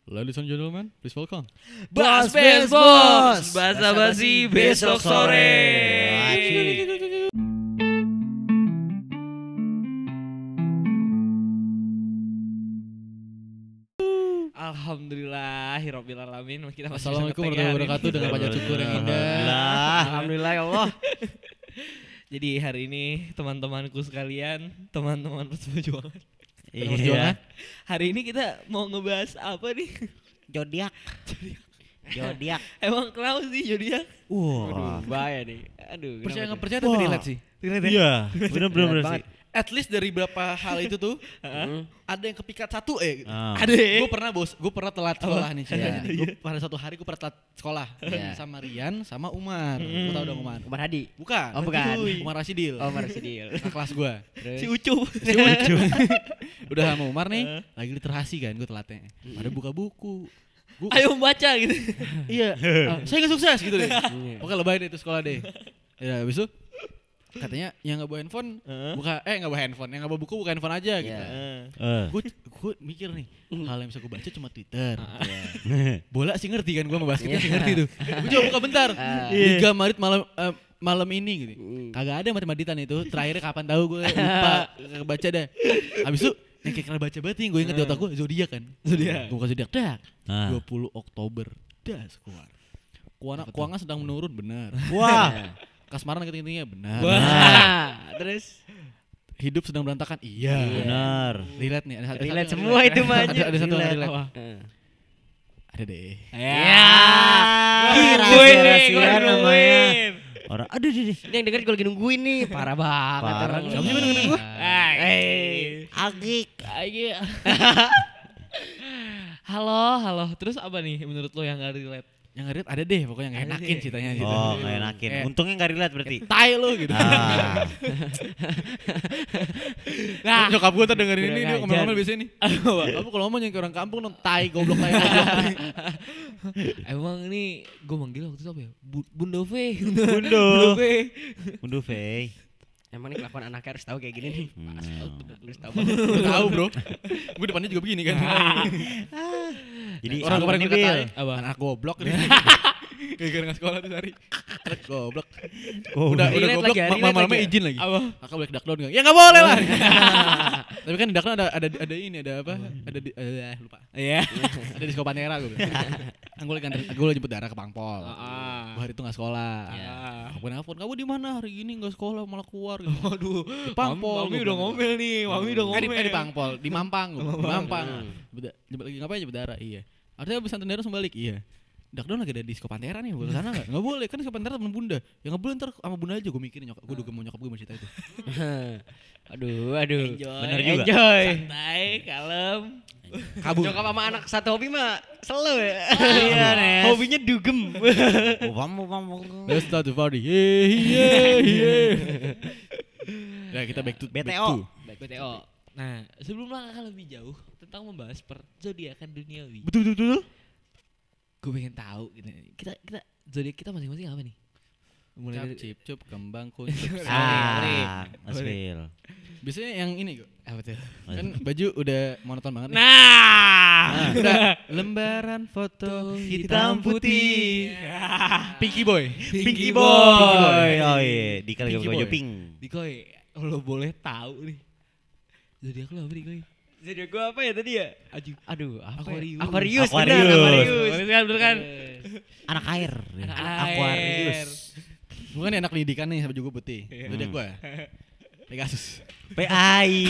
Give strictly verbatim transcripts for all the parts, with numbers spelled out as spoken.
Ladies and gentlemen, please welcome Bas Bes Bos, basa basi besok sore. Alhamdulillahirabbil alamin. Kita masih Assalamualaikum warahmatullahi wabarakatuh dengan panjang syukur yang indah. Alhamdulillah. Alhamdulillah ya Allah. Jadi hari ini teman-temanku sekalian, teman-teman perjuangan. Iya. Hari ini kita mau ngebahas apa nih? Zodiak. Zodiak. Emang kenapa sih zodiak? Wah, bahaya nih. Aduh, Percaya kenapa nggak percaya tapi Wah. relate sih. Iya, bener-bener sih. At least dari beberapa hal itu tuh ada yang kepikat satu eh. Ah. Ada. Gue pernah bos, gue pernah telat sekolah nih. Iya. Gue pada satu hari gue pernah telat sekolah Iya. sama Rian sama Umar. Gue tau dong Umar. Umar Hadi. Bukan. Oh, bukan. Umar Rasidil. Oh, Umar Sidil. Nah, kelas gue. Terus Si Ucup. Si lucu. Udah sama Umar nih, lagi literasi kan gue telatnya. Ada buka buku. Gua, Ayo membaca gitu. iya, ah, saya gak sukses gitu deh. Oke lebay deh itu sekolah deh. Ya habis itu katanya yang gak bawa handphone buka eh gak bawa handphone, yang gak bawa buku buka handphone aja gitu. Iya. Gue gue mikir nih hal yang bisa gue baca cuma Twitter. Bola sih ngerti kan gue sama basketnya sih ngerti tuh. Gue coba buka bentar. Liga Madrid malam eh, malam ini gitu. Kagak ada mati-matitan itu. Terakhirnya kapan tahu gue lupa kagak baca dah. Habis itu yang kayak kena baca banget nih gue inget di otak gue zodiak kan. Zodiak. Gue buka zodiak dak. Ah. dua puluh Oktober das keluar. Keuangan keuangan sedang menurun benar. Wah. Kasmaran ketingginya benar. Wah. Terus Hidup sedang berantakan. Iya. benar. Relate nih ada satu. Relate satu- semua itu mah. Ada ada satu yang Relate. relate. Apa? Ada deh. Ya. Gue Nungguin nih, rahasia gue namanya. nungguin. Orang aduh aduh, aduh. Ini yang dengerin gue lagi nungguin nih. Parah banget Parah. orang. Siapa sih yang dengerin gua? Eh. Agik. Ayo. Halo, halo. Terus apa nih menurut lo yang gak relate? Yang relate ada deh pokoknya yang Ada enakin deh. ceritanya gitu. Oh, nggak enakin. Eh. Untungnya nggak relate berarti. Tai lu gitu. Ah. Nah, nyokap gue tuh dengerin ini Kurang dia ajar. ngomel-ngomel biasanya nih. Kamu kalau ngomong yang kayak orang kampung dong tai goblok tai goblok. Emang ini gue manggil waktu itu apa ya? Bu- Bunda V. Bundo. Bunda V. Bundo Fei. Emang nih kelakuan anaknya harus tahu kayak gini nih. Hmm. Harus tahu banget. Gue tahu bro. Gue depannya juga begini kan. Jadi Orang apa kemarin nih, kita Bil? tai. Apa? Anak goblok nih. Gara-gara nggak sekolah tuh hari. Anak goblok. Oh, Udah udah relate goblok lagi ya, ma- relate malam-malamnya lagi ya. izin lagi. Apa? Kakak boleh ke dakdown enggak? Ya enggak boleh lah. Tapi kan di dakdown ada ada ada ini ada apa? Ada di eh, lupa. Iya. Ada di Sekolah Pantera gue bilang. Kan gue lagi gue lagi jemput darah ke Pangpol. Ah. Gue hari itu gak sekolah. Ah. Aku nelfon, kamu di mana hari ini gak sekolah malah keluar. Gitu. Waduh. Di Pangpol. Mami gua udah bilang. ngomel nih. Mami udah Eh, ngomel. di, eh, di Pangpol, di Mampang. Gua bilang. Di Mampang. Jemput, jemput lagi ngapain jemput darah? Iya. Artinya abis santan darah langsung balik. Iya. Dakdown lagi ada di Sekolah Pantera nih, boleh sana gak? Gak boleh, kan Sekolah Pantera temen bunda. Ya gak boleh ntar sama bunda aja gue mikirin nyokap. Gue udah mau nyokap gue mau cerita itu. Aduh, aduh. Enjoy. Bener juga. Enjoy. Santai, kalem. Kabur. Nyokap sama anak satu hobi mah slow ya. Iya, Nes. Hobinya dugem. Oh, pam, pam, pam. Let's start the party. Yeah, yeah, yeah. Ya kita back to B T back O. to. Baik B T O. Nah, sebelum langkah lebih jauh tentang membahas per zodiakan duniawi. Betul betul betul. Gue pengen tahu gitu. Kita kita zodiak kita masing-masing apa nih? Mulai Cap, dari cip, cup, kembang, kuncup. Ah, Asfil. Biasanya yang ini kok. apa tuh? Kan baju udah monoton banget nih. Nah, Udah lembaran foto hitam putih. Pinky boy. Pinky Boy. Boy. Oh iya, di kali Pinky baju Boy. pink. Dikoy, lo boleh tahu nih. Zodiak lo apa Dikoy? Zodiak gua apa ya tadi ya? Aju. Aduh, apa Aquarius. ya? Aquarius. Aquarius. Benar, Aquarius. Betul kan, betul kan? Anak air. Anak Aquarius. air. Bukan nih anak pendidikan nih baju gue putih. Iya. Zodiak gue. Pegasus. P I.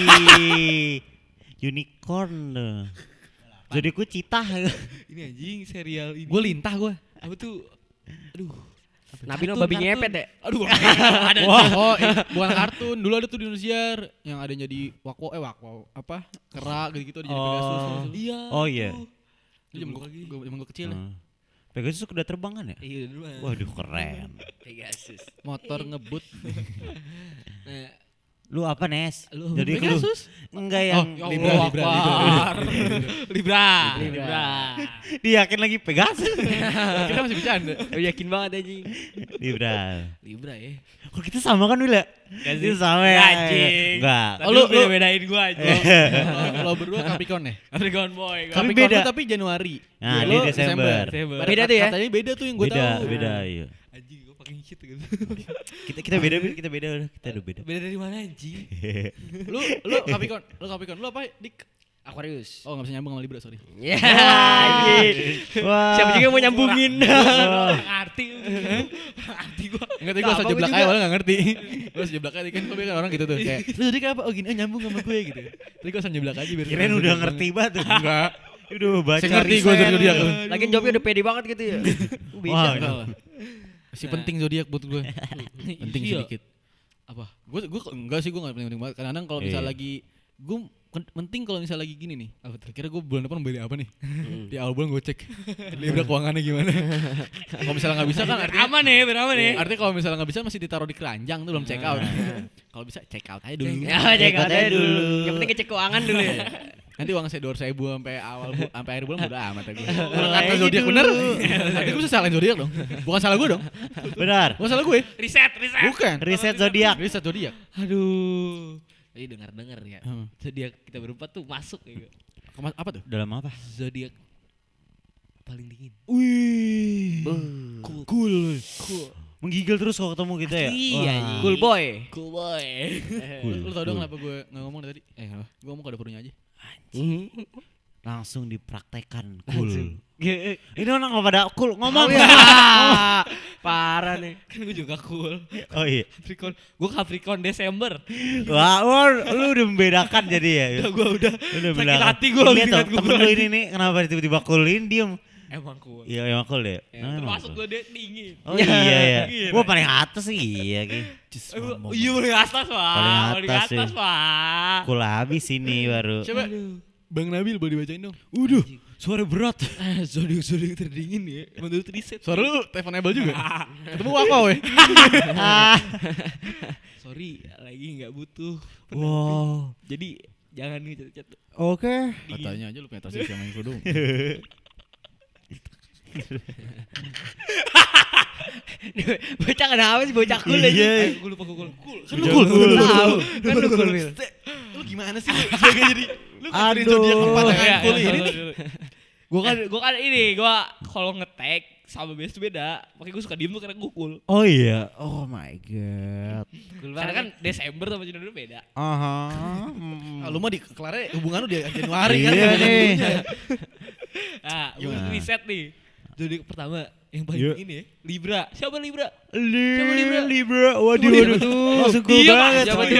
Unicorn. Jadi ku citah. Ini anjing serial ini. Gue lintah gue. Apa tuh? Aduh. Nabi no Kartun, babi kartun. ngepet ya? Aduh, ada. Wah, oh, eh, bukan kartun. Dulu ada tuh di Indosiar yang ada yang jadi wakwo eh wakwo apa? Kera gitu-gitu ada jadi Oh. Pegasus. terus. Iya. Oh iya. Itu zaman gue zaman gue kecil ya. Hmm. Pegasus udah terbang kan ya? Iya dulu. Waduh keren. Pegasus. Motor ngebut. Nah, Lu apa Nes? Lu Jadi lu Pegasus. enggak yang Oh, Libra, Libra, Libra, Libra, Libra, Libra, Libra. dia yakin lagi Pegasus. Kita masih bercanda. Oh, yakin banget anjing. Libra. Libra ya. Kok kita sama kan Wila? Kita sama ya. Anjing. Enggak. Oh, lu beda bedain gua aja. Lo berdua Capricorn ya? Capricorn boy. Tapi Capricorn beda. lu tapi Januari. Nah, Lo dia Desember. Desember. Beda tuh ya? Katanya beda tuh yang gue Beda, tahu. beda, iya. Anjing gua fucking shit gitu. Kita kita beda, kita beda udah, kita udah beda. Beda dari mana anjing? Lu lu Capricorn, lu Capricorn. Lu apa, Dik? Aquarius. Oh, enggak bisa nyambung sama Libra, sorry. Ya, anjing. Wah. Siapa juga yang mau nyambungin? Ngerti. Ngerti gua. Enggak tahu gue asal Apa jeblak gua aja, juga. malah enggak ngerti. Gue asal jeblak aja kan, gue kan orang gitu tuh kayak, lu jadi kayak apa? Oh gini, oh nyambung sama gue gitu. Tapi gue asal jeblak aja biar. Kirain udah ngerti banget. Enggak. Udah baca. Saya ngerti gue riset. zodiak. Lagian jawabnya udah pede banget gitu ya. Bisa. Wah, Enggak lah. Masih penting zodiak buat gue. Penting Iya. sedikit. Apa? Gue gue enggak sih, gue enggak penting-penting banget. Kadang-kadang kalau misal Iya. lagi gue penting kalau misal lagi gini nih. Apa tuh? Kira gue bulan depan beli apa nih? Di awal bulan gue cek Libra keuangannya gimana. Kalau misalnya nggak bisa kan artinya Aman nih, beraman nih. artinya kalau misalnya nggak bisa masih ditaruh di keranjang tuh belum check out. Kalau bisa check out aja dulu. Ya, cek aja dulu. Yang penting ngecek keuangan dulu ya. Nanti uang saya dua ratus ribu sampai awal bu, sampai akhir bulan udah amat gue. Kalau Mulai kata zodiak dulu. bener, nanti gue bisa salahin zodiak dong. Bukan salah gue dong. Benar. Bukan salah gue. Riset, riset. Bukan. Riset zodiak. Riset zodiak. Aduh. Tadi dengar-dengar ya. Hmm. Zodiak kita berempat tuh masuk ya. Kema- Apa tuh? Dalam apa? Zodiak paling dingin. Wih. Cool. Cool. Cool. Menggigil terus kalau ketemu kita ya. Iya, Wah. Cool boy. Cool boy. Lu tau dong kenapa gue nggak ngomong dari tadi? Eh kenapa? Gue ngomong kode purunya aja. Langsung dipraktekkan. Cool. Ini orang nggak pada cool ngomong. Parah nih. Kan gue juga cool. Oh iya. Capricorn. Gue Capricorn Desember. Wah, wah, lu udah membedakan jadi ya. Udah gue udah. Udah sakit bilang. hati gue Lihat lihat tuh, temen lu ini nih kenapa tiba-tiba coolin diem. Emang cool. Iya, emang cool deh. Ya, Nah, emang termasuk cool. gue deh dingin. Oh iya ya. Gila. Gua paling atas sih iya Ki. Eh, gua- Iya paling atas pak. Paling atas atas sih. pak. Cool habis ini baru. Coba Bang Nabil boleh dibacain dong. Udah. Suara berat. Ah, zodiak zodiak terdingin ya. Menurut riset. Suara lu teleponable juga. Ketemu apa weh? Sorry, lagi nggak butuh. Wow. Jadi jangan ngechat-chat. Oke. Katanya aja lu penetration sama yang kerudung. Bocah kenapa sih bocah cool aja? Iya. Eh, gue lupa gue cool. Cool. Kan lu cool. Tahu. Kan lu cool Wil. Lu gimana sih? Jaga jadi lu kan dari Aduh. zodiak empat Oh, yang iya, cool iya, ini sorry, nih. sorry. Gue kan gue kan ini gue kalau ngetek sama biasa tuh beda. Makanya gue suka diem tuh karena gue cool. Oh iya. Oh my god. Karena kan Desember sama Januari beda. Aha. Ah, lu mah di kelarnya hubungan lu di Januari kan. Iya nih. Nah, gue Gimana? riset nih. Zodiak pertama yang paling Yuk. ini ya, Libra. Siapa Libra? Siapa Libra? Libra. Waduh, Libra waduh. tuh. Langsung cool Diam, banget. siapa coy. dia?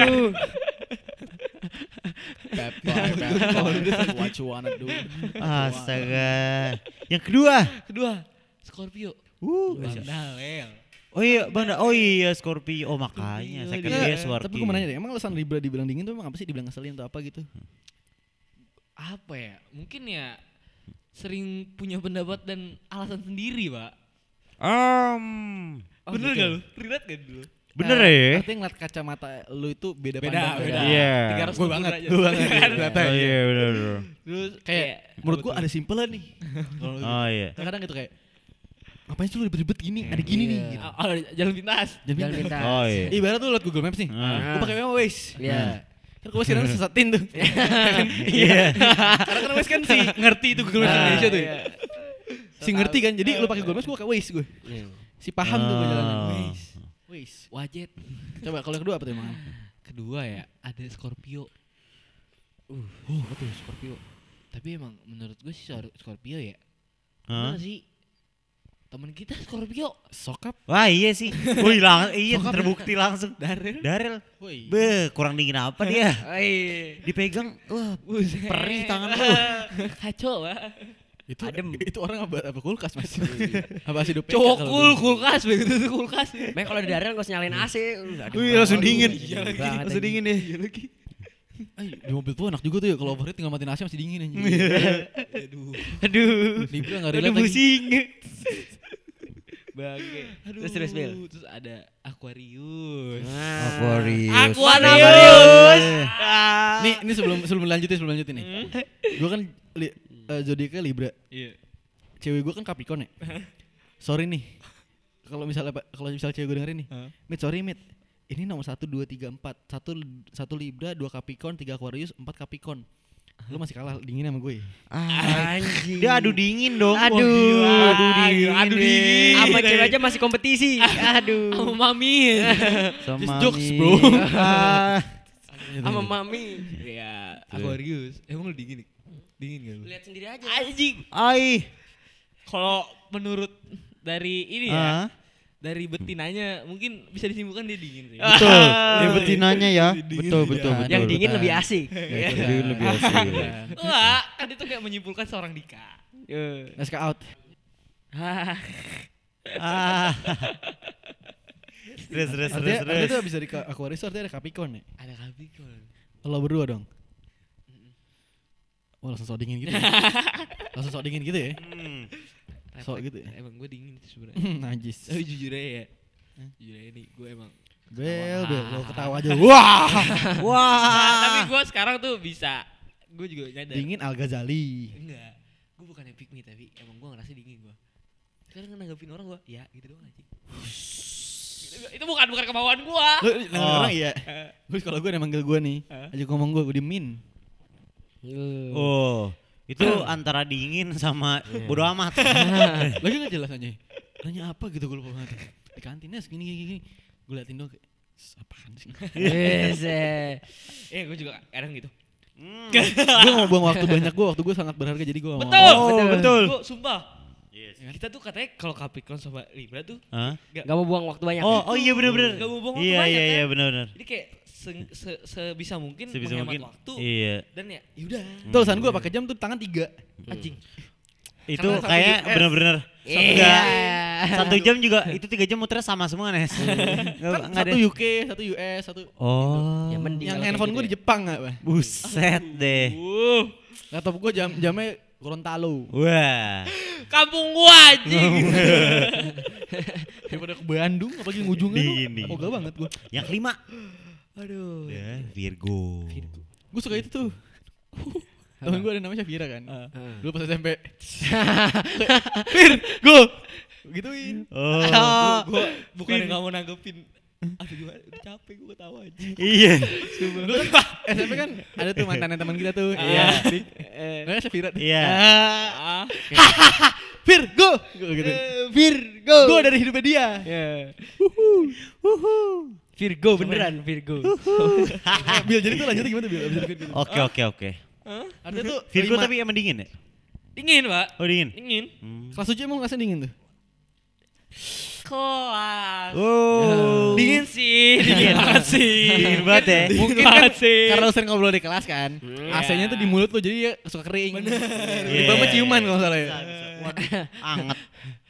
Pepper, pepper, what you wanna do. Astaga. Yang kedua. Kedua, Scorpio. Uh. Bang Dawel. Oh iya, Bang. Da- Oh iya, Scorpio. Oh makanya. Scorpio, Second dia. dia Enggak, Scorpio. tapi gue mau nanya deh, emang alasan Libra dibilang dingin tuh emang apa sih? Dibilang ngeselin atau apa gitu? Apa ya? Mungkin ya sering punya pendapat dan alasan sendiri, Pak. Um, Bener gak lu? Relate gak dulu? bener Nah, ya? Artinya ngeliat kacamata lu itu beda, Beda, pandang. beda. Iya. tiga ratus Gue banget, aja. gue banget. Ternyata Oh ya. iya, bener bener. Terus Kayak menurut gue ada simpelan nih. Kalau lu- Oh iya. kadang-kadang gitu kayak ngapain sih lu ribet-ribet gini? Ada gini nih. Iya. Gitu. Oh, oh, jalan pintas. Jangan Jangan pintar. minta. Oh iya. Ibarat tuh liat Google Maps nih. Ah. Gue pakai Waze. Iya. Kan gue sekarang sesatin tuh. Iya. Karena kan Waze kan si ngerti itu Google Maps Ah, Indonesia tuh. iya. ya. Si ngerti kan. Jadi lu pakai Google Maps gue pakai Waze gue. Iya. Si paham tuh gue jalan. Oh. Waze. Waze. Wajet. Coba kalau yang kedua apa tuh emang? Kedua ya, ada Scorpio. Uh, apa tuh Scorpio? Tapi emang menurut gue sih Sor- Scorpio ya. Hah? Mana sih? Temen kita Scorpio. Sokap. Wah iya sih. Wih lang iya terbukti langsung. Darel. Darel. Woi. Be, kurang dingin apa dia? Oi. Dipegang, wah Buset. perih tangan lu. Kacau lah. Itu Adem. itu orang apa, apa kulkas mas? Apa sih hidup Cowok cool, kulkas begitu tuh kulkas. Mek kalau di daerah nggak usah nyalain A C. uh, aduh, Wih langsung aduh, dingin. iya lagi. Langsung dingin deh. Iya lagi. Ay, di mobil tuh enak juga tuh ya kalau overheat tinggal matiin A C masih dingin anjing. Aduh. Aduh. Libra enggak Aduh relate lagi. pusing. Bangke. Terus terus Bil. Terus ada Aquarius. Aquarius. Aquarius. Ah. Nih, ini sebelum sebelum lanjutin sebelum lanjutin nih. Gue kan li, uh, zodiaknya Libra. Iya. Cewek gue kan Capricorn ya. Sorry nih. Kalau misalnya kalau misal cewek gue dengerin nih. Huh? Mit, sorry Mit. Ini nomor satu, dua, tiga, empat. Satu, satu Libra, dua Capricorn, tiga Aquarius, empat Capricorn. Lu masih kalah dingin sama gue. Anjing. Dia adu dingin dong. Aduh. Wah, Aduh dingin. Adu dingin. Apa cewek aja masih kompetisi. Aduh. Sama Mami. Sama Just jokes, Mi. bro. Ah. Sama mami. Ya, Aquarius. Emang lu dingin? Dingin gak lu? Lihat sendiri aja. Anjing. Ai. Kalau menurut dari ini ya, Ah. dari betinanya mungkin bisa disimpulkan dia dingin sih. Betul. Dia betinanya ya. Dingin Betul, dia. betul, betul. Yang dingin betul. lebih asik. Ya, dingin lebih asik. Wah, kan itu kayak menyimpulkan seorang Dika. Let's go out. Hah. Ah. Terus, terus, terus, Artinya, artinya terus. tuh abis dari Ka- Aquarius tuh artinya ada Capricorn ya. Ada Capricorn. Lo berdua dong. Oh langsung sok dingin gitu ya. Langsung sok dingin gitu ya. Hmm. Sok gitu ya. Emang gue dingin sih sebenarnya. Najis. Tapi jujur aja ya. Jujur aja nih, gue emang Bel, bel, lo ketawa aja. Wah. Nah, tapi gue sekarang tuh bisa. Gue juga nyadar. Dingin Al Ghazali. Enggak. Gue bukannya pick me tapi emang gue ngerasa dingin gue. Sekarang nanggepin orang gue, ya gitu doang aja. Gitu, itu bukan bukan kemauan gue. Lo nanggepin Oh. orang iya. Terus kalau gue udah manggil gue nih, aja ngomong gue, gue diemin. Oh, itu antara dingin sama bodo amat. Lagi nggak jelas aja. Nanya apa gitu gue lupa banget. Di kantinnya segini gini gini. Gue liatin doang kayak, apaan sih? Yes. eh. Eh gue juga kadang gitu. Hmm. Gue mau buang waktu banyak gue, waktu gue sangat berharga jadi gue Betul. mau. Oh, betul. Gue sumpah. Yes. Kita tuh katanya kalau Capricorn sama Libra tuh Hah? Gak mau buang waktu banyak. Oh, oh iya benar-benar. Gak mau buang waktu Iya, banyak iya, kan. iya benar-benar. Jadi kayak se- se- sebisa mungkin Sebisa menghemat mungkin. waktu Iya. dan ya yaudah. Tulisan gue pakai jam tuh tangan tiga. Anjing. Itu Karena satu kayak U S. benar-benar Iya. satu jam juga itu tiga jam muternya sama semua Nes. Nggak- Kan nggak ada. satu U K, satu U S, satu. Oh. Ya mending Yang kalau handphone kayak gue gitu di Jepang nggak, Pak? Buset deh. Uh, Laptop gue jam jamnya Gorontalo. Wah. kampung gua anjing. Daripada ke Bandung, apalagi ngujungnya Dingin, tuh. dingin. Ogah banget gue. Yang kelima. Aduh. Ya, Virgo. Gue suka itu tuh. Temen gue ada namanya Syafira kan. Heeh. Dulu pas S M P. Fir, go. Gituin. Oh. Gua bukan yang gak mau nanggepin. Aduh gimana, udah capek gue ketawa aja. Iya. Dulu kan S M P kan ada tuh mantan teman kita tuh. Iya. Namanya Syafira. Iya. Ah, Fir, go. Gua gitu. Virgo. Go dari hidupnya dia. Virgo beneran Virgo. Bil, jadi tuh lanjutnya gimana Bil? Abis dari Virgo. Oke, oke, oke. Artinya tuh Virgo lima- tapi emang dingin ya? dingin pak. Oh, dingin. Dingin. Hmm. kelas tujuh emang ngasih dingin tuh. Kelas. Oh. Dingin sih, dingin banget sih. Dingin banget ya. Mungkin Banget kan sih. karena lu sering ngobrol di kelas kan. A C-nya tuh di mulut lu jadi ya suka kering. Bener. Tiba Iya. ciuman kalau nggak salah ya. Anget.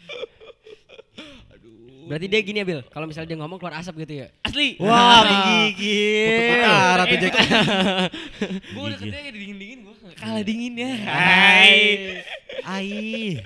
Berarti dia gini ya Bil, kalau misalnya dia ngomong keluar asap gitu ya. Asli. Wah, Kutu menggigil. utara tuh Jack. Gue udah Gigil. katanya dingin-dingin gue kalah dinginnya. Hai. Ai.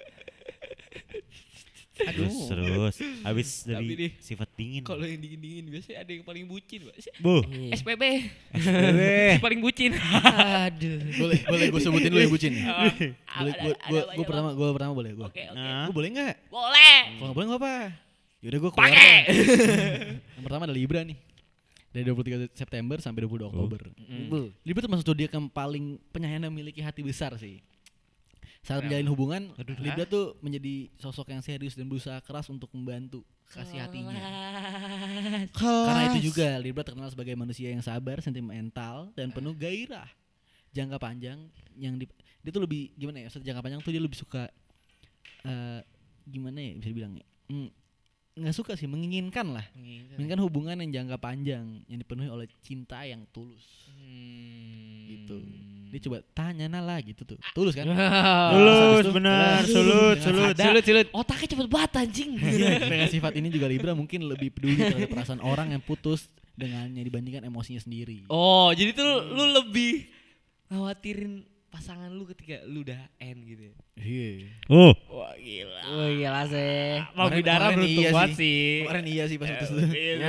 Aduh. Terus terus habis Tapi dari nih, sifat dingin. Kalau yang dingin-dingin biasanya ada yang paling bucin pak. Bu. S P B. Eh. Si paling bucin. Aduh. Boleh, boleh gue sebutin lu yang bucin. Ah, Boleh ada- gue ada gue banyak, gue pertama gue pertama boleh gue. Bang. Oke oke. Nah. Gue boleh nggak? Boleh. Kalau nggak boleh nggak apa. Yaudah gue keluar. Pakai. deh. Yang pertama ada Libra nih. Dari dua puluh tiga September sampai dua puluh dua Oktober. Bu. Libra termasuk zodiak yang paling penyayang dan memiliki hati besar sih. Saat menjalin hubungan, Libra tuh menjadi sosok yang serius dan berusaha keras untuk membantu kasih hatinya. Karena itu juga Libra terkenal sebagai manusia yang sabar, sentimental, dan penuh gairah. Jangka panjang yang di, dia tuh lebih gimana ya? Maksudnya jangka panjang tuh dia lebih suka eh, gimana ya bisa dibilang ya? Hmm, nggak suka sih, menginginkan lah. Menginginkan hubungan yang jangka panjang yang dipenuhi oleh cinta yang tulus. Gitu. Dia coba tanya Nala gitu tuh. Tulus kan? Tulus benar, sulut, sulut. Sulut sulut. Otaknya cepet banget anjing. Dengan sifat ini juga Libra mungkin lebih peduli terhadap perasaan orang yang putus dengannya dibandingkan emosinya sendiri. Oh, jadi tuh lu, lu lebih khawatirin pasangan lu ketika lu udah end gitu ya. Iya. Oh. Wah, gila. Oh iyalah sih. Mau Kemarin- bidara kemarin beruntung iya banget sih. sih. Kemarin iya sih pas putus tuh.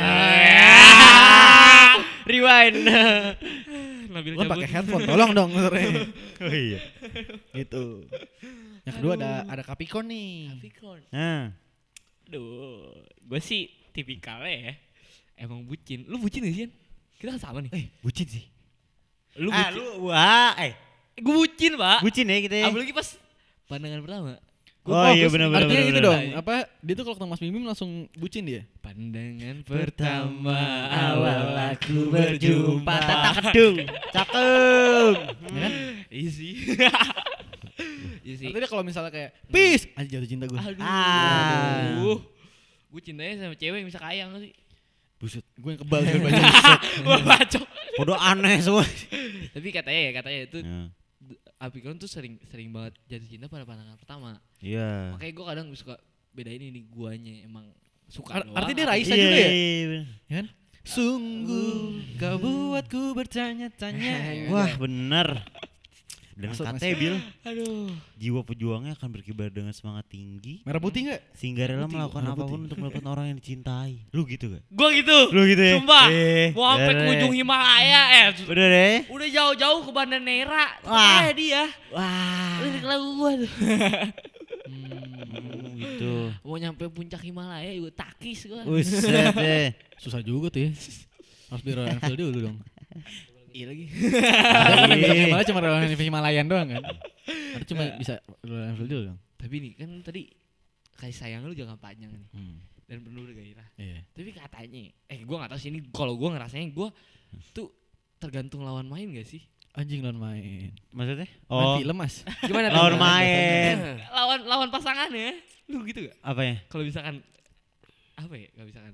Rewind. Nabil Lo cabut. pakai headphone, tolong dong sebenarnya. Oh iya. Gitu. Yang kedua ada ada Capricorn nih. Capricorn. Nah, Duh, gue sih tipikalnya ya. Emang bucin. Lu bucin gak sih, Yan? Kita kan sama nih. eh bucin sih. Lu Ah, bucin. lu wah, eh Gue bucin, Pak. bucin ya kita. ya. Apalagi pas pandangan pertama. Oh iya benar-benar. Artinya benar, itu benar. dong. Apa dia tuh kalau ketemu Mas Bim Bim langsung bucin dia? Pandangan Pertama pertama awal aku berjumpa. Tata kedung. Cakep. Ya kan? Iya sih. Iya sih. Artinya kalau misalnya kayak peace, aja jatuh cinta gue. Aduh. Ah. Aduh. Gue cintanya sama cewek yang bisa kaya gak sih? Buset, gue yang kebal dengan baju. Wah, bacok. Podo aneh semua. Tapi katanya ya, katanya itu Ya. Capricorn tuh sering sering banget jatuh cinta pada pandangan pertama. Iya. Makanya gue kadang suka bedain ini guanya emang suka Ar- doang. artinya dia atau- Raisa Iya, juga ya? iya, iya. Ya kan? Sungguh kau buatku bertanya-tanya. Wah bener. Dan Maksud, katanya Bil, Aduh. jiwa pejuangnya akan berkibar dengan semangat tinggi Merah putih enggak? sehingga rela Putih, melakukan merah apapun putih. untuk mendapatkan orang yang dicintai. Lu gitu gak? Gue gitu. Lu gitu ya? Sumpah. Eh, Mau sampai ke bener. ujung Himalaya eh. Udah deh. Udah jauh-jauh ke Banda Neira. Wah. Kayak dia. Wah. Lirik lagu gue tuh. Hmm, gitu. Mau nyampe puncak Himalaya juga takis gue. Buset deh. Susah juga tuh ya. Harus di Royal Enfield dulu dong. Iya lagi. Ada kan yang bisa Himalaya cuma Royal Enfield Himalayan doang kan. Ada cuma bisa Royal Enfield dulu dong. Tapi nih kan tadi kasih sayang lu jangan panjang nih. Hmm. Dan penuh gairah. Iya. Tapi katanya, eh gue gak tahu sih ini kalau gue ngerasanya gue tuh tergantung lawan main gak sih? Anjing lawan main. Maksudnya? Main Oh, film Mas. Gimana lawan tuh? main. lawan lawan pasangannya, lu gitu gak? Apa ya? Kalau misalkan apa ya? Gak misalkan.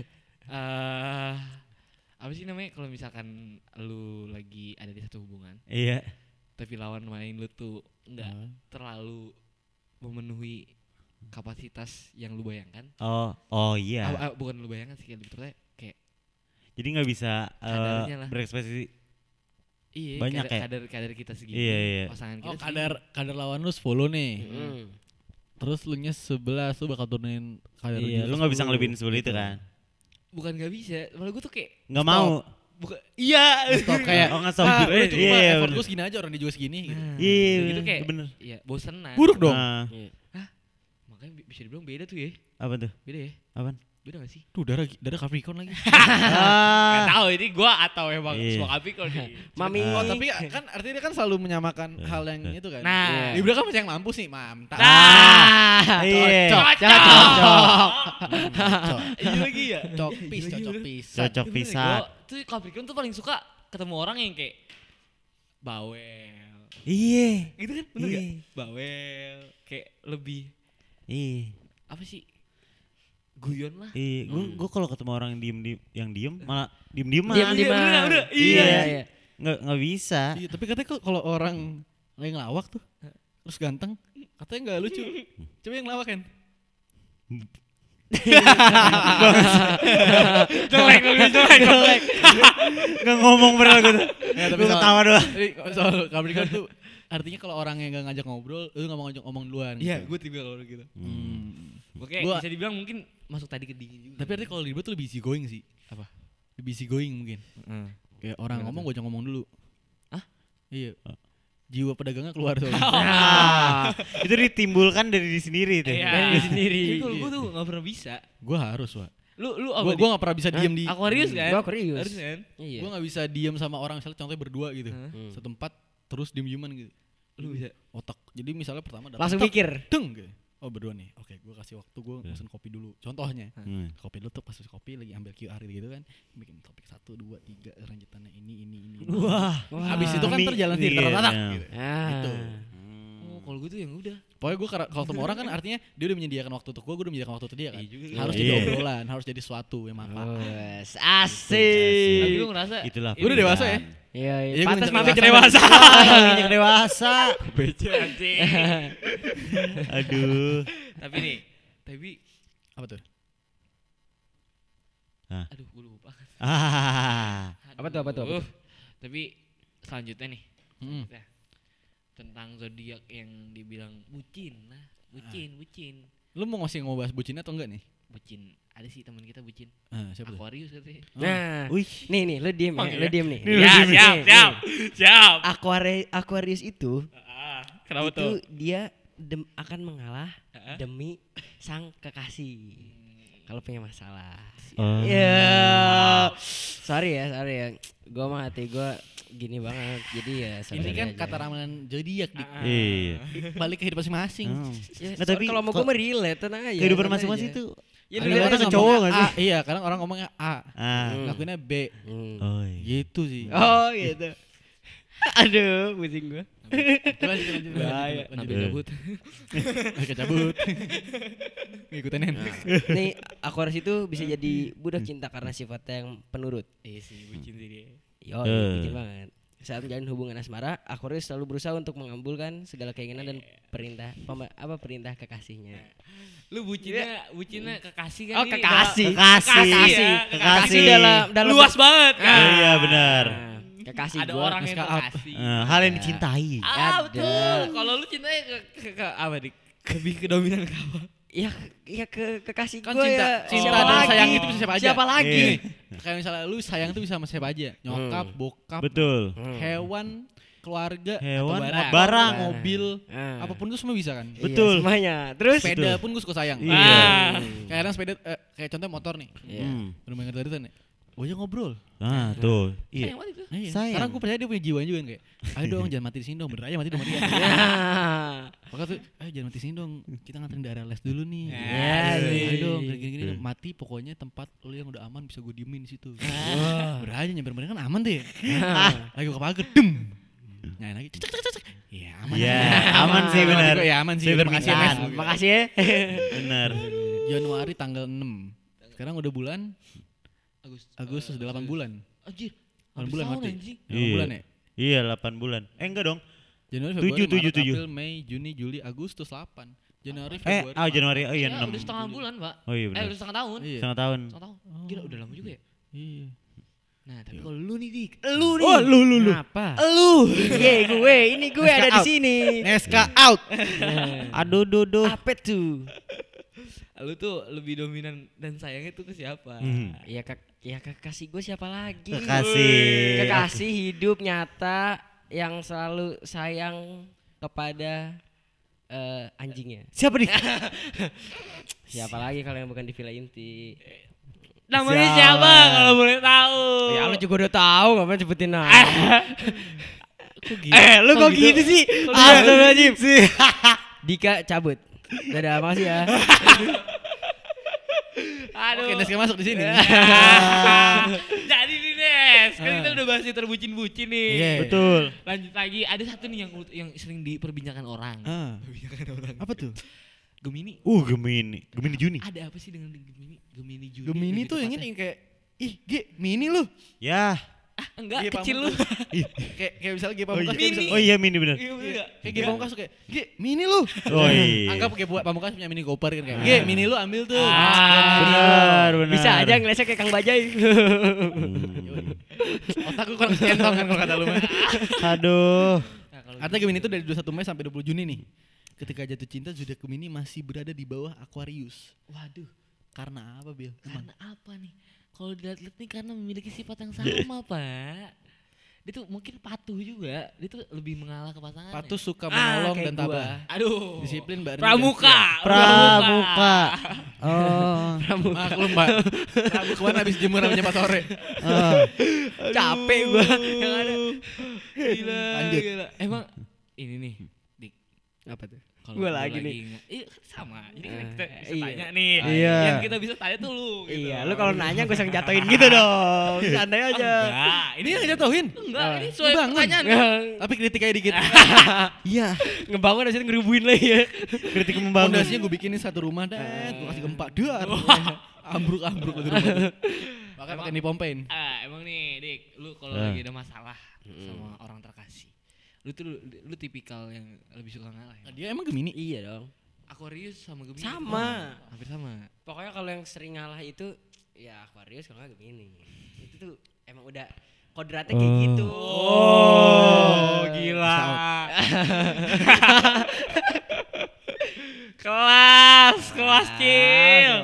Eh apa sih namanya kalau misalkan lu lagi ada di satu hubungan, Iya. tapi lawan main lu tuh nggak Hmm. terlalu memenuhi kapasitas yang lu bayangkan. Oh, oh iya. Ah, ah, bukan lu bayangkan sih, kayak lebih tepatnya kayak Jadi nggak bisa eh, Kadarnya lah. berekspresi. iya Banyak kadar, ya? kadar kadar kita segini, Iya, iya. pasangan kita Oh segini. kadar kadar lawan lu sepuluh nih. Hmm. Terus lu nya sebelas lu bakal turunin kadar Iya, dia lu nggak bisa sepuluh. ngelebihin sepuluh itu kan? Bukan gak bisa, malah gue tuh kayak Nggak mau. bukan iya Stop kayak Oh, nggak stop. ah, Iya, udah cukup iya, lah, iya, effort bener. gue segini aja orang dia juga segini gitu. Nah, Iya, gitu kayak bener. iya bosenan. Buruk dong. Ah, Makanya bi- bisa dibilang beda tuh ya. apa tuh? Beda ya? Apaan? Beda gak sih? Tuh darah darah Capricorn lagi. Gak ah, tahu ini gua atau emang Iya. semua Capricorn nih. Mami. Oh tapi kan artinya dia kan selalu menyamakan Eh, hal yang eh. itu kan. Nah. Dia bilang kan masih yang mampu sih, mantap. Nah. iya. Cocok. Cocok. Ini lagi ya. Cocok pis, cocok pis. Cocok Bener, pisan. gua tuh Capricorn tuh paling suka ketemu orang yang kayak bawel. Iya. Gitu kan? Bener Iya. gak? Bawel. Kayak lebih Iya. apa sih? Guyon lah. Iya, gua gua kalau ketemu orang yang diem diem yang diem malah diem diem Diam di Iya, bener, bener. Iya. Iya, iya. Nggak nggak bisa. Iya, tapi katanya kok kalau orang lagi ngelawak tuh terus ganteng, katanya nggak lucu. Coba yang ngelawak kan. Jelek, jelek, jelek, jelek. Nggak ngomong bener gua tuh. Ya, Gua ketawa doang. Tapi soal Capricorn tuh artinya kalau orang yang nggak ngajak ngobrol, lu nggak mau ngajak ngomong duluan. Iya, gitu. gue tipe kalau gitu. Hmm. Oke, Gua- bisa dibilang mungkin masuk tadi ke dingin juga. Tapi artinya kalau ribet tuh lebih easy going sih. Apa? Lebih easy going mungkin. Hmm. Kayak orang Gimana ngomong tuh? gue jangan ngomong dulu. Hah? Iya. Jiwa pedagangnya keluar soalnya. Ah, itu ditimbulkan dari diri sendiri tuh. Iya. Dari diri sendiri. Tapi kalau gue tuh gak pernah bisa. Gue harus, Pak. Lu lu Gue apa? gue nggak pernah bisa diem di. Aquarius kan? Gua Aquarius. Harus kan? Iya. Gue nggak bisa diem sama orang misalnya contohnya berdua gitu. Hah? Hmm. Setempat terus diem dieman gitu. Lu bisa. Otak. Jadi misalnya pertama datang, Langsung tok, mikir. deng gitu. Oh berdua nih. Oke, gue kasih waktu gue Iya. pesen kopi dulu. Contohnya. Hmm. Kopi dulu tuh pas kopi lagi ambil Q R gitu kan. Bikin topik satu, dua, tiga. Lanjutannya ini, ini, ini. ini. Wah. Habis itu kan Mi- terjalan sendiri. iya, Tatak, iya. gitu. Ah. Gitu. Oh, kalau gue tuh yang udah. Pokoknya gue kalau ketemu orang kan artinya dia udah menyediakan waktu untuk gue, gue udah menyediakan waktu untuk dia kan. Iya juga. Harus Iya. jadi obrolan, harus jadi sesuatu yang manfaat. Wes, Asik. Tapi gue ngerasa Itulah. Lu udah dewasa ya? Iya, iya. Iya, gua Pantas ngincer mampir dewasa. dewasa. Injek dewasa. Bece anjing. Aduh. Tapi nih, tapi Apa tuh? aduh gue lupa. Ah. Apa tuh, apa tuh, apa Aduh. Tapi selanjutnya nih. Hmm. Nah, tentang zodiak yang dibilang bucin, nah, bucin, bucin. Lu mau ngasih mau bahas bucin atau enggak nih? Bucin. Ada sih teman kita bucin. Ah, siapa tuh? Aquarius katanya. Nah, Wih. nih nih lu diem Oh, ya, iya? lu diem nih. Nih, lu Ya, diem. siap, Nih, siap. Siap. Aquari- Aquarius itu Ah, kenapa itu tuh? dia dem- akan mengalah Heeh. demi sang kekasih. Kalau punya masalah. Oh. Ya. Sorry ya, sorry ya. Gua mah hati gua gini banget. Jadi ya Ini sorry kan aja. kata ramalan zodiak dik. Ah. Iya. Balik ke hidup masing-masing. Oh. Ya, Nah, so- tapi kalau mau kok- gua mah relate, tenang aja. Kehidupan tenang masing-masing aja. tuh. Ya, Ada lu orang lihat ke aja. cowok ngomongnya nggak A, iya, kadang orang ngomongnya A, Ah. Hmm. lakuinnya B. Hmm. Oh, iya. Gitu sih. Oh gitu. Aduh, pusing gua. Lanjut, lanjut, lanjut, Bahaya. lanjut, Sampai lanjut. cabut. Kecabut. Ngikutin Nen. Nih, Aquarius itu bisa jadi budak cinta karena sifatnya yang penurut. Iya sih, bucin sih dia. Yo, Eh. bucin banget. Saat menjalin hubungan asmara, Aquarius selalu berusaha untuk mengabulkan segala keinginan dan perintah pema- apa perintah kekasihnya. Lu bucinnya, bucinnya kekasih kan Oh, ini, kekasih. Bang. Kekasih. Kekasih ya. Kekasih. dalam dalam Luas banget kan. Oh, iya benar. Nah, kekasih Ada gua. orang yang Naskah up. kekasih. Eh, hal yang Ya. dicintai. Ah, Ada. betul. Kalau lu cintanya ke, ke, ke apa dik? Lebih ke dominan ke apa? Ya, ya ke kekasih Kan gua cinta, ya. cinta Siapa dan lagi? sayang itu bisa siapa aja. Siapa lagi? Iya. Kayak misalnya lu sayang tuh bisa sama siapa aja. Nyokap, Hmm. bokap, Betul. Hmm. hewan, keluarga, Hewan, atau barang. barang. mobil, Ah. apapun itu semua bisa kan. Iya, Betul. semuanya. Terus Sepeda Betul. pun gue suka sayang. Iya. Ah. Kayak kadang sepeda, eh, kayak contoh motor nih. Iya. Hmm. Udah main dari ya. Gue aja ngobrol. Ah, tuh. Iya. Sayang banget itu. Nah, iya. Sayang. Karena gue percaya dia punya jiwa juga kan kayak, ayo dong jangan mati di sini dong, bener aja mati di rumah dia. Ya. Maka tuh, ayo jangan mati di sini dong, kita nganterin daerah les dulu nih. Ya, ayo sih. dong, gini-gini Iya. mati pokoknya tempat lu yang udah aman bisa gue diemin di situ. Wah. Bener aja nyamper bener kan aman tuh ya. Ah, lagi gue ke pagar, dem. Nyalain lagi, cek cek cek cek. Iya aman. Iya, aman sih, bener. Iya aman sih. Saya Terima kasih ya, berminat. Mas. Makasih ya. Benar. Januari tanggal enam. Sekarang udah bulan Agustus. Agustus udah delapan bulan. Anjir. delapan Habis bulan tahun, mati. anjing. delapan Iya. bulan ya? Iya, delapan bulan. Eh, enggak dong. Januari, Tujuh, Februari, tujuh, Maret, tujuh. April, Mei, Juni, Juli, Agustus delapan. Januari, Eh, Februari. oh Januari. Oh iya, Ya, enam. udah setengah bulan, Pak. Oh iya Eh, benar. udah setengah tahun. Iya. Setengah tahun. Setengah tahun. Gila, udah lama juga ya. Iya. Nah, tapi kalau lu nih, Dik. Lu nih. Oh, lu lu lu. Kenapa? Lu. Ye, gue, ini gue ada di out. sini. Neska out. Aduh, duh, duh. Apa tuh? Lu tuh lebih dominan dan sayangnya tuh ke siapa? Hmm. Ya kek, ya kekasih gue siapa lagi? Kekasih. Kekasih hidup nyata yang selalu sayang kepada eh, anjingnya. Siapa nih? Siapa lagi kalau yang bukan di Villa Inti? Namanya Siapa? siapa kalau boleh tahu? Ya lu juga udah tahu, ngapain sebutin nama? Eh, lu kok gitu sih? Astagfirullahaladzim. Sih. Dika cabut. Dadah, makasih ya. Aduh. Oke, Neska masuk di sini. Jadi nih, Nes. Kan kita udah bahas yang terbucin-bucin nih. Iya. Betul. Lanjut lagi, ada satu nih yang yang sering diperbincangkan orang. Ah. Diperbincangkan orang. Apa tuh? Gemini. Uh, Gemini. Gemini Juni. Ada apa sih dengan Gemini? Gemini Juni. Gemini lebih tuh yang tepatnya. ini yang kayak, ih, G, mini lu. Ya. Ah, enggak, G kecil lu. Pamungkas. kayak kayak misalnya G Oh Pamungkas iya. kayak Mini. bisa- Oh iya, Mini bener. Iya, bener enggak? kayak G Pamungkas tuh kayak, G, mini lu. Oh iya. Anggap kayak buat Pamungkas punya mini Cooper kan kayak, G, mini lu ambil tuh. Ah. Benar, benar. Bisa aja ngelesek kayak Kang Bajai. Otakku kurang centong kan kalau kata lu mah. Aduh. Nah, kalau Artinya Gemini itu dari dua puluh satu Mei sampai dua puluh Juni nih. Ketika jatuh cinta, zodiak Gemini masih berada di bawah Aquarius. waduh, Karena apa, Bil? karena apa nih? Kalau dilihat-lihat nih karena memiliki sifat yang sama, Pak. Dia tuh mungkin patuh juga. Dia tuh lebih mengalah ke pasangan. Patuh suka Ah, menolong kayak dan gua. tabah. Aduh. Disiplin, Mbak Rini, Pramuka. dan Pramuka. Oh. siap. Maklum, Mbak. Rabu kemarin habis jemur sampai jam empat sore. Oh. Capek gua. Yang ada. Gila, Lanjut. gila. Emang ini nih, Dik. Apa tuh? Kalau Gua lu lagi nih. nge- Iya, sama. Jadi kan Eh, kita bisa iya. tanya nih. Iya. Yang kita bisa tanya tuh lu gitu. Iya, lu kalau nanya gue usah jatuhin gitu dong. Santai aja. Enggak, Ini yang jatuhin. enggak, Ah. ini sesuai Ngebangun. pertanyaan. Tapi kritiknya dikit. Iya. Ngebangun dari situ ngeribuin lagi ya. Kritik membangun. Fondasinya gue bikinin satu rumah dan gue kasih gempa. Dar. Ambruk-ambruk lagi rumah. Makanya pakai dipompein. Ah, emang nih, Dik, lu kalau Ah. lagi ada masalah sama orang terkasih. Lu tuh lu, lu tipikal yang lebih suka ngalah ya? Dia emang Gemini. Iya dong. Aquarius sama Gemini. Sama. Oh, hampir sama. Pokoknya kalau yang sering ngalah itu ya Aquarius kalau nggak Gemini. Itu tuh emang udah kodratnya kayak gitu. Oh, gila. kelas, kelas. sekelas Cil.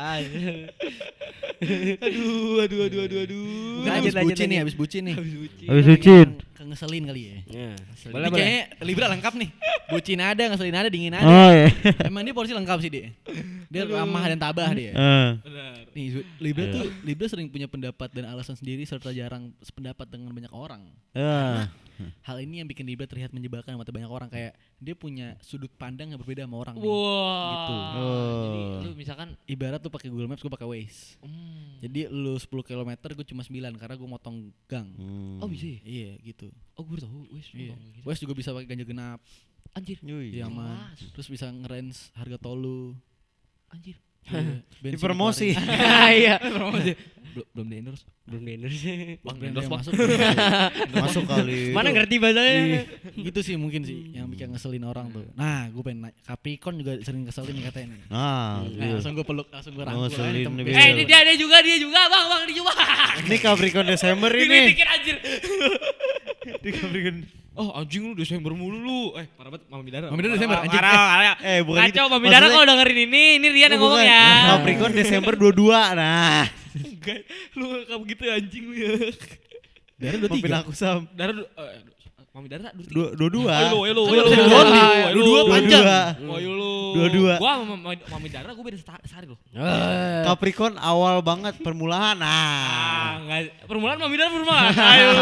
Aduh, aduh, aduh, aduh, aduh. Mungkin Lanjut, habis lanjut, bucin nih, lanjut. habis bucin nih. Habis bucin. Kengeselin kali ya. Ya. Ini Boleh, boleh. kayaknya Libra lengkap nih. Bucin ada, ngeselin ada, dingin ada. Oh iya. Emang dia porsi lengkap sih dia. Dia ramah dan tabah dia. Eh. Benar. Nih Libra Iya. tuh Libra sering punya pendapat dan alasan sendiri serta jarang sependapat dengan banyak orang. Ya. Hal ini yang bikin Libra terlihat menyebalkan mata banyak orang, kayak dia punya sudut pandang yang berbeda sama orang nih. Wah. Gitu. Jadi Oh. lu misalkan Ibarat tuh pakai Google Maps, gue pakai Waze. hmm. Jadi lu sepuluh kilometer, gue cuma sembilan karena gue motong gang. Hmm. Oh bisa ya? Iya gitu. Oh gue baru tahu. Wes. Iya. gitu. Waze juga bisa pakai ganjil genap. Anjir. Yui. Iya aman. Kelas. Terus bisa ngerens harga tol lu. Anjir. Iya, bensin Dipromosi. dikeluarin. Iya. Promosi. Belum belum di endorse. Belum di endorse. Bang, Brand endorse, yang Bang. masuk. Masuk kali. Mana ngerti bahasanya? Iya, gitu sih mungkin sih yang bikin ngeselin orang tuh. Nah, gue pengen nanya, Capricorn juga sering ngeselin nih katanya nih. Nah, Nah, iya. langsung gue peluk, langsung gue rangkul. Ngeselin aja, tem- nih, biar- Eh ini dia dia juga dia juga bang bang dia juga. Ini Capricorn Desember ini. Kritikin anjir. Ini Capricorn. Oh anjing lu Desember mulu lu. Eh parah banget Mami Dara. Mami Dara Desember, Parah, anjing. Parah, parah. Eh, bukan gitu. Kacau Mami Dara Maksudnya- kalau dengerin ini, ini Rian yang Oh, ngomong bukan. ya. Capricorn Desember dua puluh dua. Nah. Enggak, lu kamu gitu ya anjing lu ya. Dara dua Maafin tiga. aku Sam. Dara du- eh, Mami Dara dua tiga. Dua dua dua. Ayo lu, ayo lu, Kan ayo bisa lu. dua-dua. Ayo lu, Dua-dua ayo lu. panjang. Oh, ayo lu. Dua-dua. Gua sama Mami- Mami Dara gua beda seta- sehari loh. Eh. Capricorn awal banget permulaan. Ah, Nah. enggak. Permulaan Mami Dara permulaan. Ayo.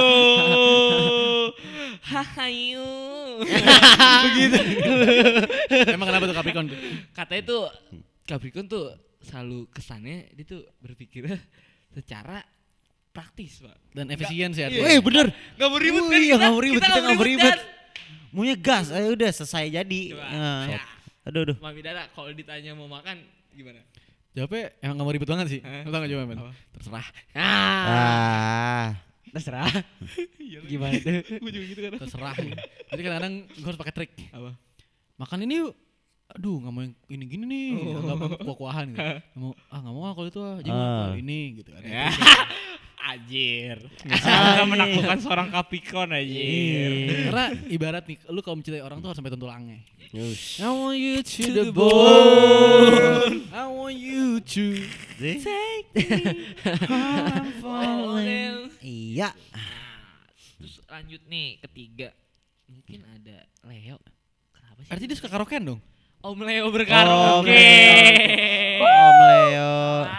Hahayu. Begitu. Emang kenapa tuh Capricorn tuh? Katanya tuh Capricorn tuh selalu kesannya dia tuh berpikirnya secara praktis, Pak. Dan efisien sih Iya. artinya. Eh bener. Gak mau ribet Oh, kan iya, kita? nggak mau ribet, kita nggak mau ribet. kan? Maunya gas, ayo udah selesai jadi. Coba. Nah. Ya. Aduh aduh. Mami Dara kalau ditanya mau makan gimana? Jawabnya emang gak mau ribet banget sih. Hah? Lu tau gak jawaban? Apa? Terserah. Ah. Ah. Terserah. Gimana tuh? Gue juga gitu kan. Terserah. Jadi kadang-kadang gue harus pakai trik. Apa? Makan ini yuk. Aduh gak mau yang ini gini nih. Oh. Gak mau kuah-kuahan gitu. Gak mau, ah gak mau ah kalau itu ah. Jadi Ah. ini gitu kan. Ya. Anjir. Ah, Bisa ini. menaklukkan seorang Capricorn anjir. Iya. Karena ibarat nih, lu kalau mencintai orang tuh harus sampai tulangnya. Yus. I want you to the bone. I want you to See? take me how I'm falling. Iya. Terus lanjut nih ketiga. Mungkin ada Leo. Kenapa sih? Artinya dia suka karaokean dong? Om Leo Om berkaraoke. Leo. Om Leo.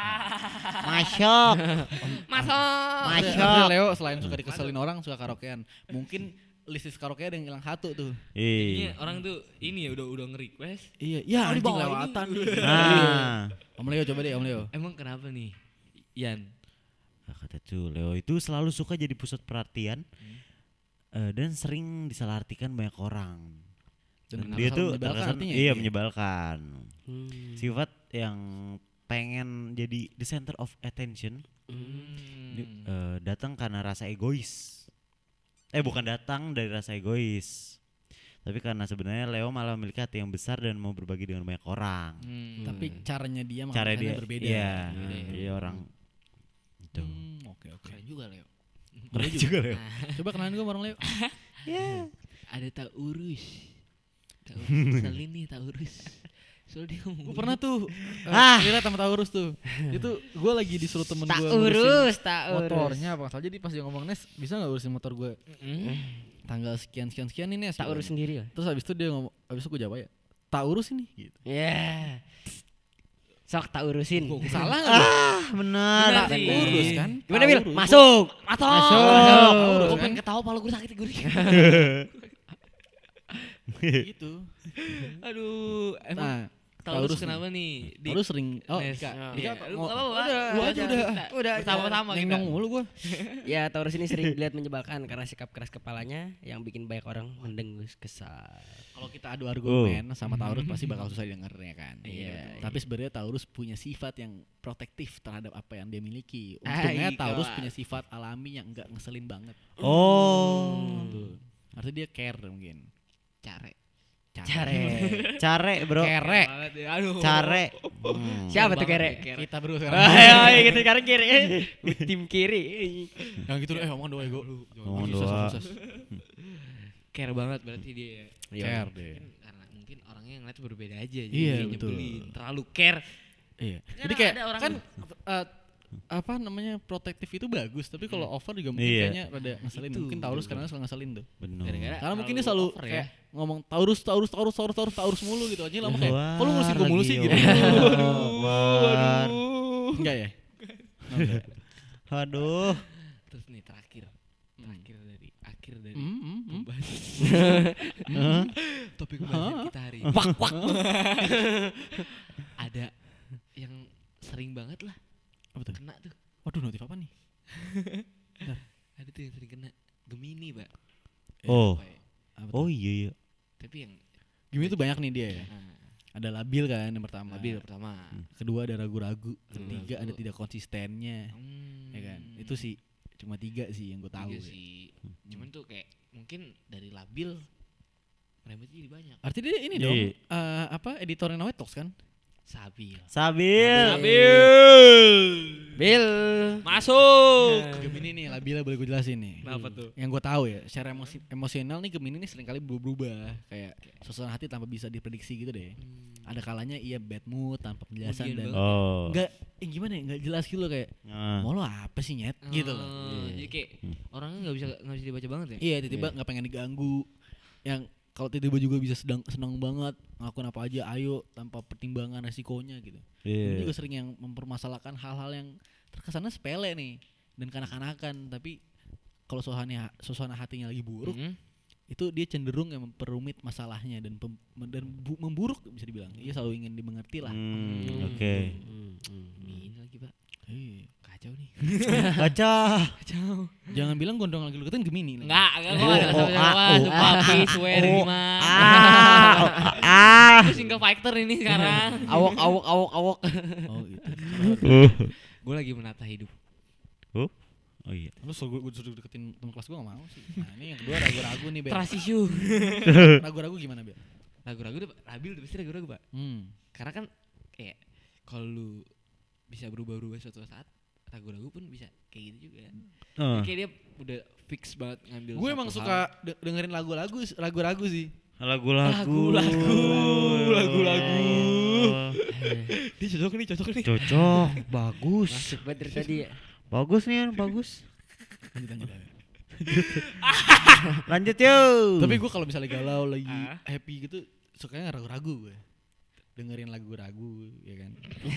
Masuk. Masuk. Masuk. Artinya Leo selain suka dikeselin orang, suka karaokean. Mungkin listis karaoke ada yang hilang satu tuh. Jadinya Iya. orang tuh ini ya udah udah nge-request. Iya, ya Oh, anjing dibawain lewatan. nih. Nah. Om Leo coba deh Om Leo. Emang kenapa nih? Yan. Nah, kata tuh Leo itu selalu suka jadi pusat perhatian eh, dan sering disalahartikan banyak orang. Dan Dan dia terkesan tuh menyebalkan terkesan artinya iya ya? menyebalkan. Hmm. Sifat yang pengen jadi the center of attention Hmm. di- eh, datang karena rasa egois. Eh bukan datang dari rasa egois. Tapi karena sebenarnya Leo malah memiliki hati yang besar dan mau berbagi dengan banyak orang. Hmm. Tapi caranya dia Cara mengamalkannya dia berbeda. Iya, Berbeda ya. dia orang itu. Hmm, oke oke. keren juga Leo. Keren juga Leo. Coba kenalan gue sama orang Leo. Ada Taurus. Taurus selin nih Taurus. Soalnya dia ngomong. Gue pernah tuh Ah. ah. Kira sama Taurus tuh. Itu gue lagi disuruh temen Tak gue urus, tak urus. motornya apa salah. Jadi pas dia ngomong Nes bisa nggak urusin motor gue Hmm. tanggal sekian sekian sekian ini Nes. Tak urus sendiri lah. Terus habis itu dia ngomong, habis itu gue jawab ya tak urus ini gitu. Ya. Sok tak urusin. Salah nggak? gua? Ah, benar. Benar Tak sih. urus kan? Gimana Tak Bil? urus. Masuk. Masuk. Masuk. Masuk. Gue Kan? pengen ketawa pala gue sakit gue. Gitu. Aduh, emang Nah, Taurus Taurus kenapa nih? Di- Taurus sering oh Nes. Dika. Iya. Dika Lu mau- apa-apa, udah, Lu lu aja udah. Udah, Sama-sama kita. Nengong mulu gue. Ya Taurus ini sering dilihat menyebalkan karena sikap keras kepalanya yang bikin banyak orang mendengus kesal. Kalau kita adu argumen sama Taurus pasti bakal susah didengarnya kan. Iya. Tapi sebenarnya Taurus punya sifat yang protektif terhadap apa yang dia miliki. Ah, Untungnya iya, Taurus kelas. punya sifat alami yang enggak ngeselin banget. Oh. Tuh. Artinya dia care mungkin. Care. Care. Care, Bro. Kere. Banget ya. Aduh. Care. Hmm. Siapa tuh Banget kere? ya, Kita bro sekarang. Ayo, ayo kita sekarang kiri. Tim kiri. Yang gitu eh ngomong doa ego. Ngomong Sukses, doa. sukses. Care banget berarti dia. ya. Iya. Care deh. Mungkin karena mungkin orang orangnya ngeliat berbeda aja. Jadi Iya, kayak betul. nyebelin, terlalu care. Iya. Kan Jadi kayak ada orang- kan uh, apa namanya protektif itu bagus, tapi kalau over juga mungkin Iya. kayaknya rada ngeselin. Itu, mungkin Taurus betul. kadang suka ngeselin tuh. Benar. Gara-gara Karena mungkin dia terlalu selalu over kayak ngomong Taurus, Taurus, Taurus, Taurus, Taurus, Taurus mulu gitu aja lama kayak. Wah, Kok lu ngurusin gue mulu sih lagi, gitu. War. Enggak ya? Oh, enggak. Aduh. Terus nih terakhir, terakhir dari akhir dari Hmm, hmm, hmm. pembahasan Hah? topik pembahasan Hah? kita hari ini. Wak, wak. Ada yang sering banget lah Apa tuh? kena tuh. Waduh, notif apa nih? Ada tuh yang sering kena Gemini, Pak. Oh. Apa ya? Apa tuh? Oh iya iya. Tapi yang Gimana tuh banyak nih dia ya. nah, Ada labil kan yang pertama. labil pertama. Kedua ada ragu-ragu. Ketiga Ragu-ragu. ada tidak konsistennya. Hmm, Ya kan? Itu sih cuma tiga sih yang gue tahu. tiga ya. sih. Cuman tuh kayak mungkin dari labil remetnya jadi banyak. Artinya dia ini Iya. dong. eh, apa editornya Nawet Talks kan? Sabil. Sabil. Bil. Masuk. Gemini nih labilnya boleh gue jelasin nih. Kenapa tuh? Yang gue tahu ya, secara emosi emosional nih Gemini nih seringkali berubah-ubah. Kayak suasana hati tanpa bisa diprediksi gitu deh. Ada kalanya ia bad mood tanpa penjelasan Kemudian dan banget. Oh. enggak eh, gimana ya, enggak jelas gitu loh kayak Ah. mau lo apa sih nyet gitu loh. Oh, jadi kayak orangnya nggak bisa nggak bisa dibaca banget ya. Iya, tiba-tiba nggak pengen diganggu. Yang kalau tiba-tiba juga bisa sedang senang banget ngelakuin apa aja ayo tanpa pertimbangan resikonya gitu. Ini Iya. juga sering yang mempermasalahkan hal-hal yang terkesannya sepele nih dan kanak-kanakan, tapi kalau suasana suasana hatinya lagi buruk, Mm-mm. itu dia cenderung yang memperumit masalahnya dan pem- dan bu- memburuk bisa dibilang. Ia selalu ingin dimengerti lah. Hmm, oke. Ini lagi, Pak. Iya. Kacau nih. Baca. Kacau. Jangan bilang gondrong lagi lu kan Gemini. lagi. Enggak, enggak gua Oh, enggak oh, sama ah, sama oh, sumpah ah, please swear oh, gimana. Ah. Ah. Aku single fighter ini sekarang. Awok awok awok awok. Oh gitu. Gue lagi menata hidup. Oh. Oh iya. Lu suruh gue suruh deketin temen kelas gue gak mau sih. Nah ini yang kedua ragu-ragu nih, Bel. Trust issue. Ragu-ragu gimana, Bel? Ragu-ragu udah labil udah pasti ragu-ragu, Pak. Hmm. Karena kan kayak kalau lu bisa berubah-ubah suatu saat, ragu-ragu pun bisa kayak gitu juga. Oh. Kayak dia udah fix banget ngambil Gue satu emang hal. suka de- dengerin lagu-lagu ragu-ragu sih. Lagu-lagu. Lagu-lagu. Lagu-lagu. Oh. Dia cocok nih, cocok nih. Cocok, bagus. Masuk banget dari tadi ya. Bagus nih, Yan, bagus. Lanjut, lanjut, lanjut. Lanjut yuk. Tapi gue kalau misalnya galau lagi Ah. happy gitu sukanya ragu-ragu gue. Dengerin lagu ragu ya kan.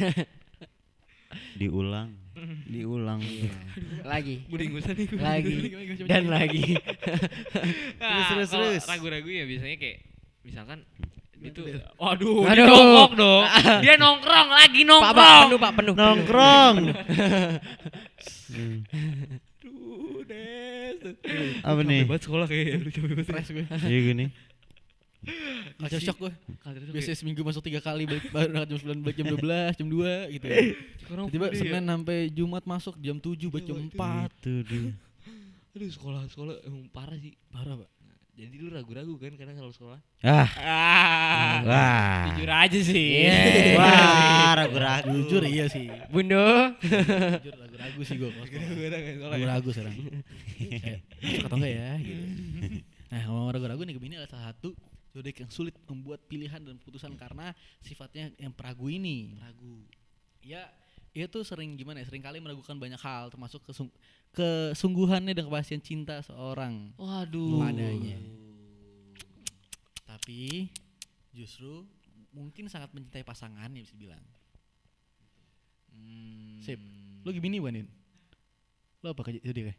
diulang, diulang. Lagi. Buding-budan nih. Lagi. Dan lagi. Terus terus, terus. Ragu-ragu ya biasanya kayak misalkan itu waduh, Waduh. dia jongkok dong. Dia nongkrong lagi Pak, nongkrong. Pak, penuh, Pak, penuh. Nongkrong. Aduh, Des. Apa nih? Capek banget sekolah kayak lu capek banget. Stres gue. Iya gini. Culture shock gue. Culture shock Biasanya ya. seminggu masuk tiga kali balik berangkat jam sembilan balik jam dua belas, jam dua gitu. Sekarang Tiba-tiba full day ya. Senin sampai Jumat masuk jam tujuh balik jam Iya, empat. Itu dia. Aduh, sekolah-sekolah emang parah sih. Parah, Pak. Jadi lu ragu-ragu kan kadang kalau sekolah. Ah. Ah. Wah. Jujur aja sih. Iya. Wah, ragu-ragu. Jujur iya sih. Bundo. Jujur ragu-ragu sih gue. ya. Ragu-ragu sekarang. Eh, masuk atau enggak ya gitu. Nah, ngomong ragu-ragu nih Gemini adalah salah satu zodiak yang sulit membuat pilihan dan keputusan karena sifatnya yang peragu ini. Ragu. Ya, ia tuh sering gimana ya? Sering kali meragukan banyak hal termasuk kesung- kesungguhannya dan kepastian cinta seorang Waduh. padanya. Tapi justru mungkin sangat mencintai pasangannya bisa bilang. Hmm. Sip. Lo Gemini bukan, Din? Lo apa kerja zodiak?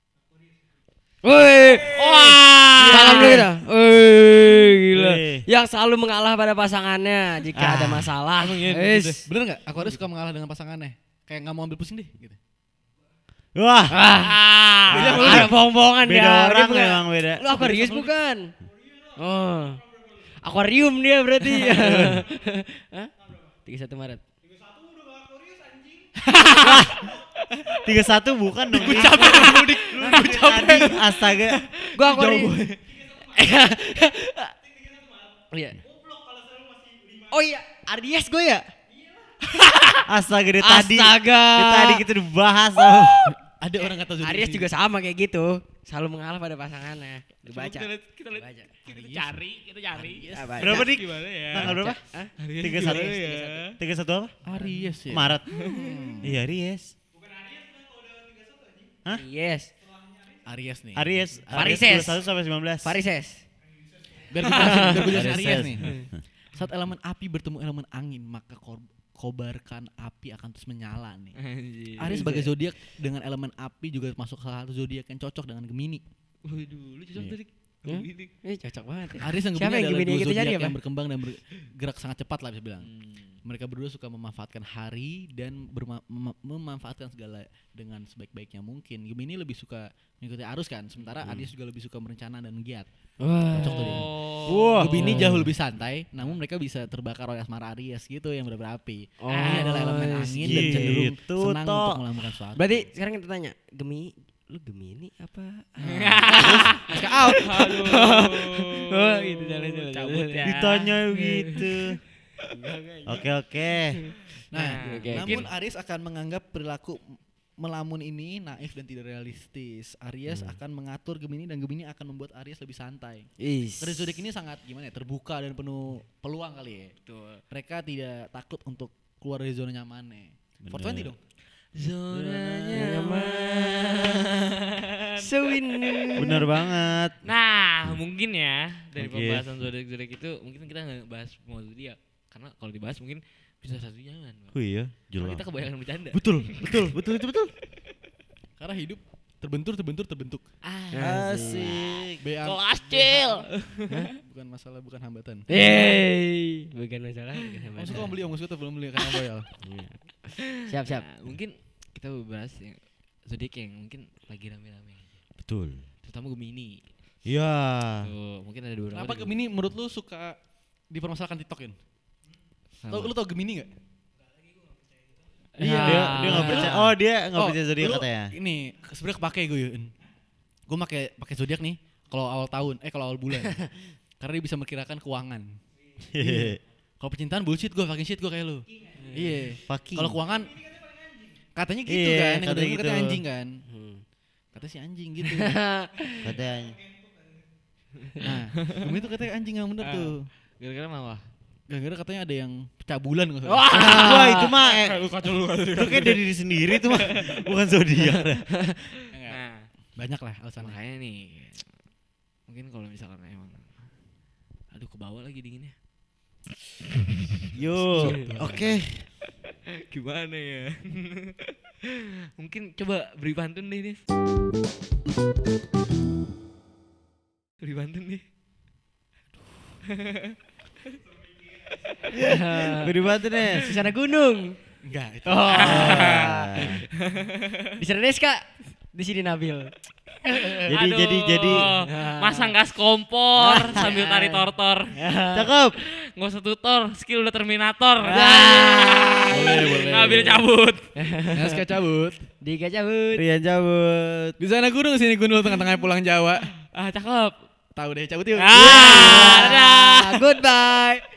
Woi. Wah. Salam dulu kita. Woi, gila. Wih. Yang selalu mengalah pada pasangannya jika Ah. ada masalah. Gitu. Wis. Bener nggak? Aquarius suka mengalah dengan pasangannya. Kayak nggak mau ambil pusing deh. Gitu. Wah. Ah, ada bohong-bohongan Beda dia. orang Dia bukan- memang beda. Lu Aquarius bukan? Oh. Akuarium dia berarti. Hah? tiga puluh satu Maret. tiga puluh satu bukan dong. Gue capek mudik. Gue capek. Astaga. Gua Aquarius. Iya. Oh iya, Aries gue ya? Astaga dari tadi. Astaga. Dari tadi kita udah bahas. tau. Ada orang kata zodiak. Aries sih. juga sama kayak gitu. selalu mengalah pada pasangannya. Dibaca. Kita lihat, kita lihat, Baca. kita cari, kita cari. Ah, baca. Berapa dik? Gimana ya? Tanggal berapa? Hah? Tiga satu. ya. Tiga satu apa? Aries ya. Maret. Iya Aries. Hah? Yes. Aries nih. Aries. Varises. dua puluh satu sampai sembilan belas. Varises. Biar gue jelasin, biar gue jelasin Aries. Aries nih. Saat elemen api bertemu elemen angin, maka kor- kobarkan api akan terus menyala nih. Anjir. Aries sebagai zodiak dengan elemen api juga masuk salah satu zodiak yang cocok dengan Gemini. Waduh, lu cocok Iya. tadi. Hmm? Gini. Ini cocok banget ya. Aries dan Siapa Gemini yang adalah Gemini dua kita zodiak cari apa? yang berkembang dan bergerak sangat cepat lah bisa bilang. Hmm. Mereka berdua suka memanfaatkan hari dan berma- mem- memanfaatkan segala dengan sebaik-baiknya mungkin. Gemini lebih suka mengikuti arus kan, sementara Aries juga lebih suka merencana dan giat. Wah. Cocok tuh dia. Oh. Gemini jauh lebih santai, namun mereka bisa terbakar oleh asmara Aries gitu yang berapi. Oh, Ini adalah elemen angin dan cenderung gitu, senang toh. untuk melakukan sesuatu. Berarti sekarang kita tanya, Gemini, lu Gemini apa? Masuk out. Aduh. Oh, gitu, jalan, jalan, Cabut jalan. ya. Ditanya gitu. Oke oke. Nah, Oke, namun Aries akan menganggap perilaku melamun ini naif dan tidak realistis. Aries akan mengatur Gemini dan Gemini akan membuat Aries lebih santai. Is. Dari zodiak ini sangat gimana ya, terbuka dan penuh peluang kali ya. Mereka tidak takut untuk keluar dari zona nyamannya. empat dua puluh dong. Zona nyaman. Sewin. Bener banget. Nah, mungkin ya dari Oke. pembahasan zodiak-zodiak itu mungkin kita nggak bahas semua zodiak karena kalau dibahas mungkin bisa satu jangan. Oh iya, Karena jelas. kita kebanyakan bercanda. Betul, betul, betul itu betul. Karena hidup terbentur, terbentur, terbentuk. Ah, Asik. B A kelas cil. bukan masalah, bukan hambatan. Hey, bukan masalah. bukan Kamu masalah. suka beli, kamu suka belum beli karena royal. Siap, siap. Nah, mungkin kita bahas yang zodiak yang mungkin lagi rame-rame. Betul. Terutama Gemini. Iya. Tuh, mungkin ada beberapa. Kenapa nih. Gemini menurut lu suka dipermasalahkan TikTokin? Tau, Sama. lu tau Gemini gak? Iya. Dia dia nggak percaya. Oh dia nggak Oh, percaya zodiak lu katanya. Ini sebenarnya kepake gue Yun. Gue pakai pakai zodiak nih kalau awal tahun, eh kalau awal bulan. Karena dia bisa memperkirakan keuangan. Kalau percintaan bullshit gue, fucking shit gue kayak lu. Iya. Fucking. Kalau keuangan katanya gitu Iya, kan, yang katanya katanya, gitu. katanya anjing kan. Hmm. Katanya si anjing gitu. Katanya. Nah, Gemini tuh katanya anjing yang bener Ah. tuh. Gara-gara apa? Gara-gara katanya ada yang pecah bulan nggak salah. Wah. Wah itu mah eh, Lu kacau lu kacau. itu kayak dari diri sendiri tuh mah bukan zodiak. Nah, Banyak lah alasannya. makanya nih mungkin kalau misalkan emang aduh ke bawah lagi dinginnya. Yo. Oke. Gimana ya? Mungkin coba beri pantun deh, Nis. Beri pantun deh. Beri bantu nih. Di sana gunung. Enggak, itu. Oh. Di sana Deska. Di sini Nabil. Jadi Aduh, jadi jadi masang gas kompor sambil tarik tortor. cakep. Nggak usah tutor, skill udah Terminator. Boleh, boleh. Ngambil cabut. Naska cabut. Diga cabut. Rian cabut. Di sana gunung, sini gunung, tengah-tengah pulang Jawa. Ah, cakep. Tahu deh, cabut yuk. Ah, dadah. Goodbye.